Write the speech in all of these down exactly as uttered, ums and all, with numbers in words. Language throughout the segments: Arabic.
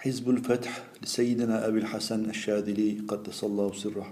حزب الفتح لسيدنا أبي الحسن الشاذلي قدس الله سره.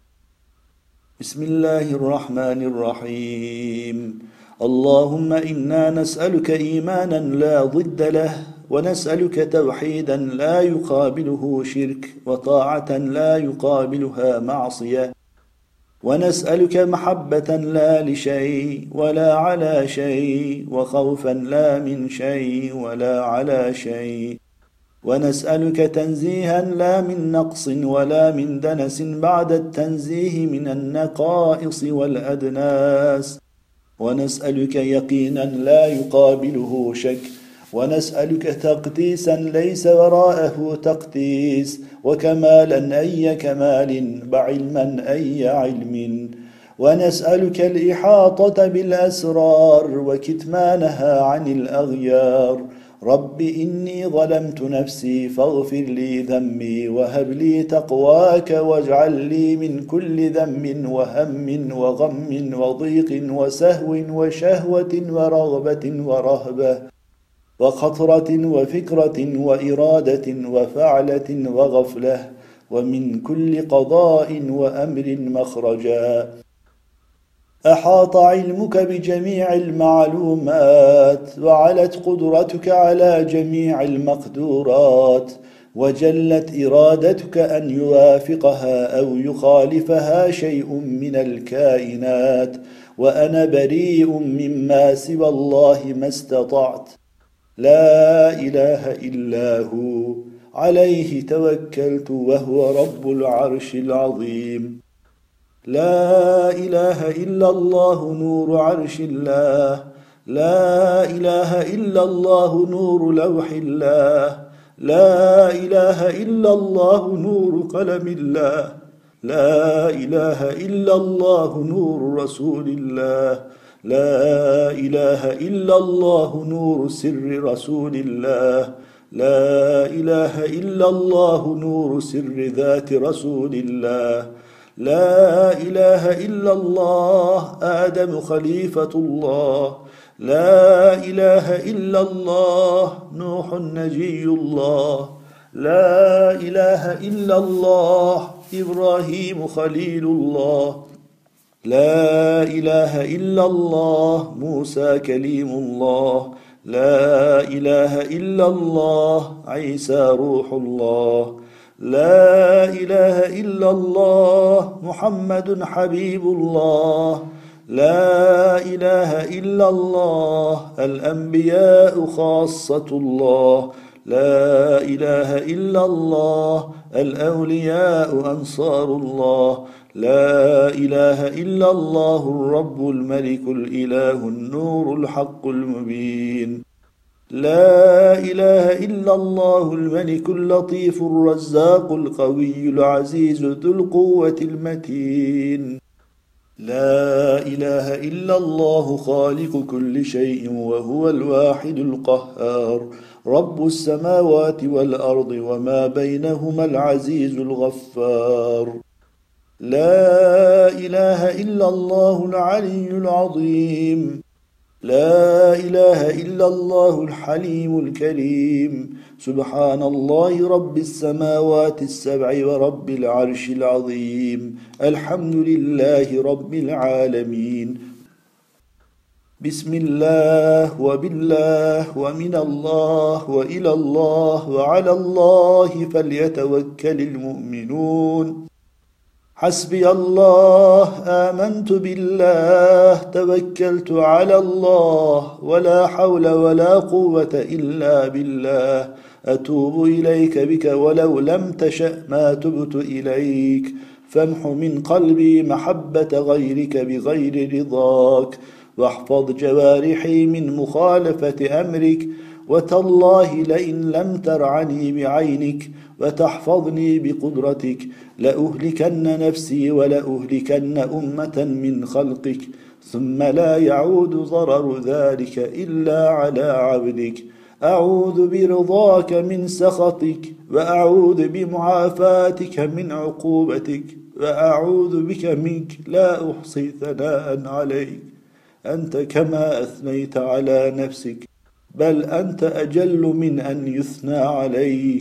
بسم الله الرحمن الرحيم. اللهم إنا نسألك إيمانا لا ضد له، ونسألك توحيدا لا يقابله شرك، وطاعة لا يقابلها معصية، ونسألك محبة لا لشيء ولا على شيء، وخوفا لا من شيء ولا على شيء، ونسألك تنزيها لا من نقص ولا من دنس بعد التنزيه من النقائص والأدناس، ونسألك يقينا لا يقابله شك، ونسألك تقديسا ليس وراءه تقديس، وكمالا أي كمال، وعلما أي علم، ونسألك الإحاطة بالأسرار وكتمانها عن الأغيار. رب إني ظلمت نفسي فاغفر لي ذنبي، وهب لي تقواك، واجعل لي من كل ذنب وهم وغم وضيق وسهو وشهوة ورغبة ورهبة وخطرة وفكرة وإرادة وفعلة وغفلة، ومن كل قضاء وأمر مخرجا. أحاط علمك بجميع المعلومات، وعلت قدرتك على جميع المقدورات، وجلت إرادتك أن يوافقها أو يخالفها شيء من الكائنات، وأنا بريء مما سوى الله ما استطعت. لا إله إلا هو، عليه توكلت وهو رب العرش العظيم. لا إله إلا الله نور عرش الله، لا إله إلا الله نور لوح الله، لا إله إلا الله نور قلم الله، لا إله إلا الله نور رسول الله، لا إله إلا الله نور سر رسول الله، لا إله إلا الله نور سر ذات رسول الله، لا إله إلا الله آدم خليفة الله، لا إله إلا الله نوح نجي الله، لا إله إلا الله إبراهيم خليل الله، لا إله إلا الله موسى كليم الله، لا إله إلا الله عيسى روح الله، لا إله إلا الله محمد حبيب الله، لا إله إلا الله الأنبياء خاصة الله، لا إله إلا الله الأولياء أنصار الله، لا إله إلا الله الرب الملك الإله النور الحق المبين، لا إله إلا الله الملك اللطيف الرزاق القوي العزيز ذو القوة المتين، لا إله إلا الله خالق كل شيء وهو الواحد القهار، رب السماوات والأرض وما بينهما العزيز الغفار، لا إله إلا الله العلي العظيم، لا إله إلا الله الحليم الكريم، سبحان الله رب السماوات السبع ورب العرش العظيم، الحمد لله رب العالمين. بسم الله وبالله ومن الله وإلى الله وعلى الله فليتوكل المؤمنون. حسبي الله آمنت بالله توكلت على الله، ولا حول ولا قوة إلا بالله، أتوب إليك بك ولو لم تشأ ما تبت إليك، فامح من قلبي محبة غيرك بغير رضاك، واحفظ جوارحي من مخالفة أمرك، وتالله لئن لم ترعني بعينك وتحفظني بقدرتك لأهلكن نفسي ولأهلكن أمة من خلقك، ثم لا يعود ضرر ذلك إلا على عبدك. أعوذ برضاك من سخطك، وأعوذ بمعافاتك من عقوبتك، وأعوذ بك منك لا أحصي ثناء عليك، أنت كما أثنيت على نفسك، بل أنت أجل من أن يثنى عليك.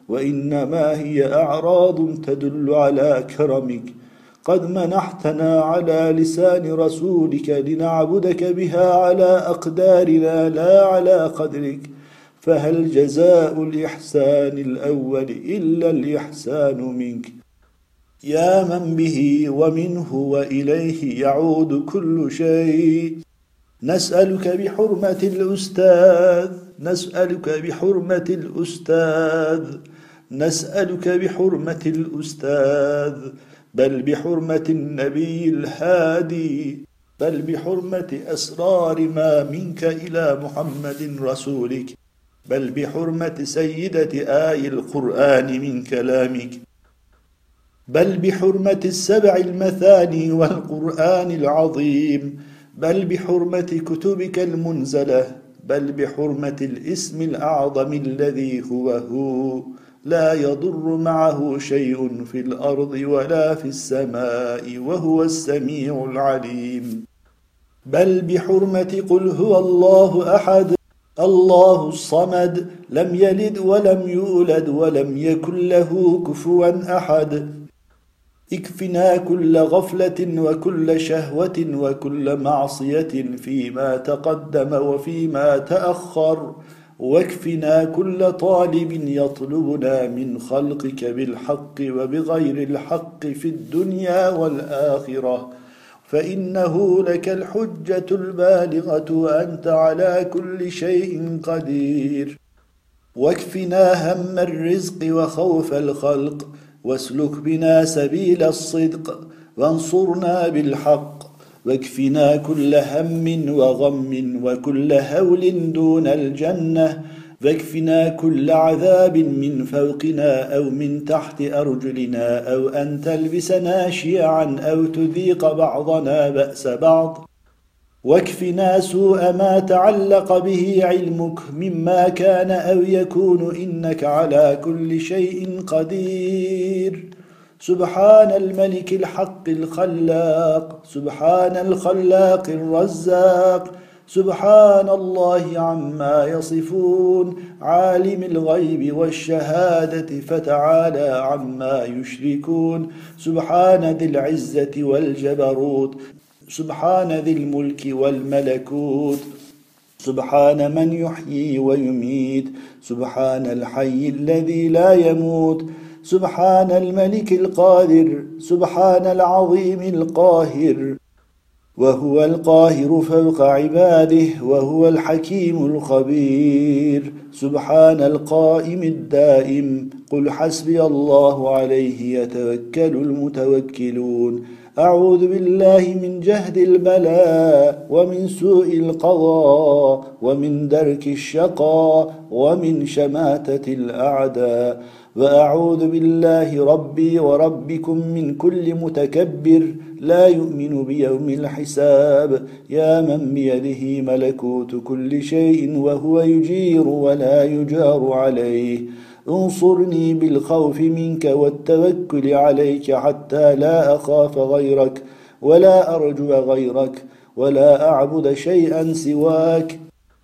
وإنما هي أعراض تدل على كرمك. قد منحتنا على لسان رسولك لنعبدك بها على أقدارنا لا على قدرك، فهل جزاء الإحسان الأول إلا الإحسان منك؟ يا من به ومنه وإليه يعود كل شيء، نسألك بحرمة الأستاذ نسألك بحرمة الأستاذ نسألك بحرمة الأستاذ بل بحرمة النبي الهادي، بل بحرمة أسرار ما منك إلى محمد رسولك، بل بحرمة سيدة آي القرآن من كلامك، بل بحرمة السبع المثاني والقرآن العظيم، بل بحرمة كتبك المنزلة، بل بحرمة الاسم الأعظم الذي هو هو لا يضر معه شيء في الأرض ولا في السماء وهو السميع العليم، بل بحرمة قل هو الله أحد الله الصمد لم يلد ولم يولد ولم يكن له كفوا أحد. اكفنا كل غفلة وكل شهوة وكل معصية فيما تقدم وفيما تأخر، واكفنا كل طالب يطلبنا من خلقك بالحق وبغير الحق في الدنيا والآخرة، فإنه لك الحجة البالغة وأنت على كل شيء قدير. واكفنا هم الرزق وخوف الخلق، واسلك بنا سبيل الصدق وانصرنا بالحق، واكفنا كل هم وغم وكل هول دون الجنة، واكفنا كل عذاب من فوقنا أو من تحت أرجلنا، أو أن تلبسنا شيعا أو تذيق بعضنا بأس بعض، واكفنا سوء ما تعلق به علمك مما كان أو يكون إنك على كل شيء قدير. سبحان الملك الحق الخلاق، سبحان الخلاق الرزاق، سبحان الله عما يصفون، عالم الغيب والشهادة فتعالى عما يشركون. سبحان ذي العزة والجبروت، سبحان ذي الملك والملكوت، سبحان من يحيي ويميت، سبحان الحي الذي لا يموت، سبحان الملك القادر، سبحان العظيم القاهر، وهو القاهر فوق عباده، وهو الحكيم الخبير. سبحان القائم الدائم، قل حسبي الله عليه يتوكل المتوكلون. أعوذ بالله من جهد البلاء ومن سوء القضاء ومن درك الشقاء ومن شماتة الأعداء، وأعوذ بالله ربي وربكم من كل متكبر لا يؤمن بيوم الحساب، يا من بيده ملكوت كل شيء وهو يجير ولا يجار عليه. انصرني بالخوف منك والتوكل عليك حتى لا أخاف غيرك ولا أرجو غيرك ولا أعبد شيئا سواك.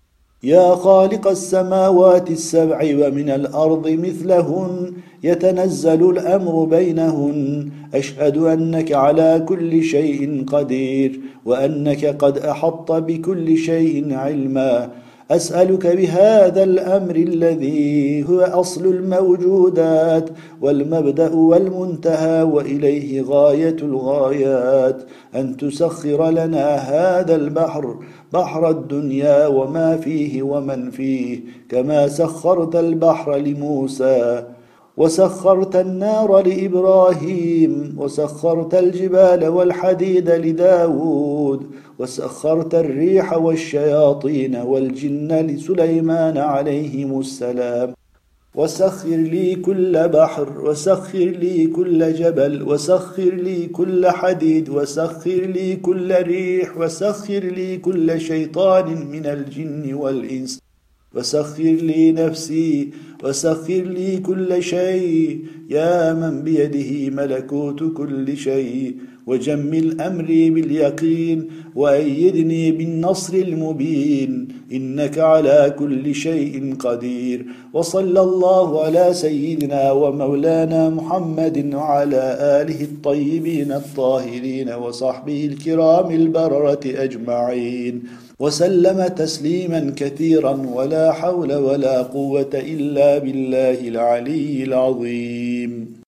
يا خالق السماوات السبع ومن الأرض مثلهن يتنزل الأمر بينهن، أشهد أنك على كل شيء قدير وأنك قد أحط بكل شيء علما. أسألك بهذا الأمر الذي هو أصل الموجودات والمبدأ والمنتهى وإليه غاية الغايات، أن تسخر لنا هذا البحر، بحر الدنيا وما فيه ومن فيه، كما سخرت البحر لموسى، وسخرت النار لإبراهيم، وسخرت الجبال والحديد لداود، وسخرت الريح والشياطين والجن لسليمان عليهم السلام. وسخر لي كل بحر، وسخر لي كل جبل، وسخر لي كل حديد، وسخر لي كل ريح، وسخر لي كل شيطان من الجن والإنس، وسخر لي نفسي وسخر لي كل شيء يا من بيده ملكوت كل شيء، وجمل أمري باليقين وأيدني بالنصر المبين، إنك على كل شيء قدير. وصلى الله على سيدنا ومولانا محمد وعلى آله الطيبين الطاهرين وصحبه الكرام البررة أجمعين، وسلم تسليما كثيرا، ولا حول ولا قوة إلا بالله العلي العظيم.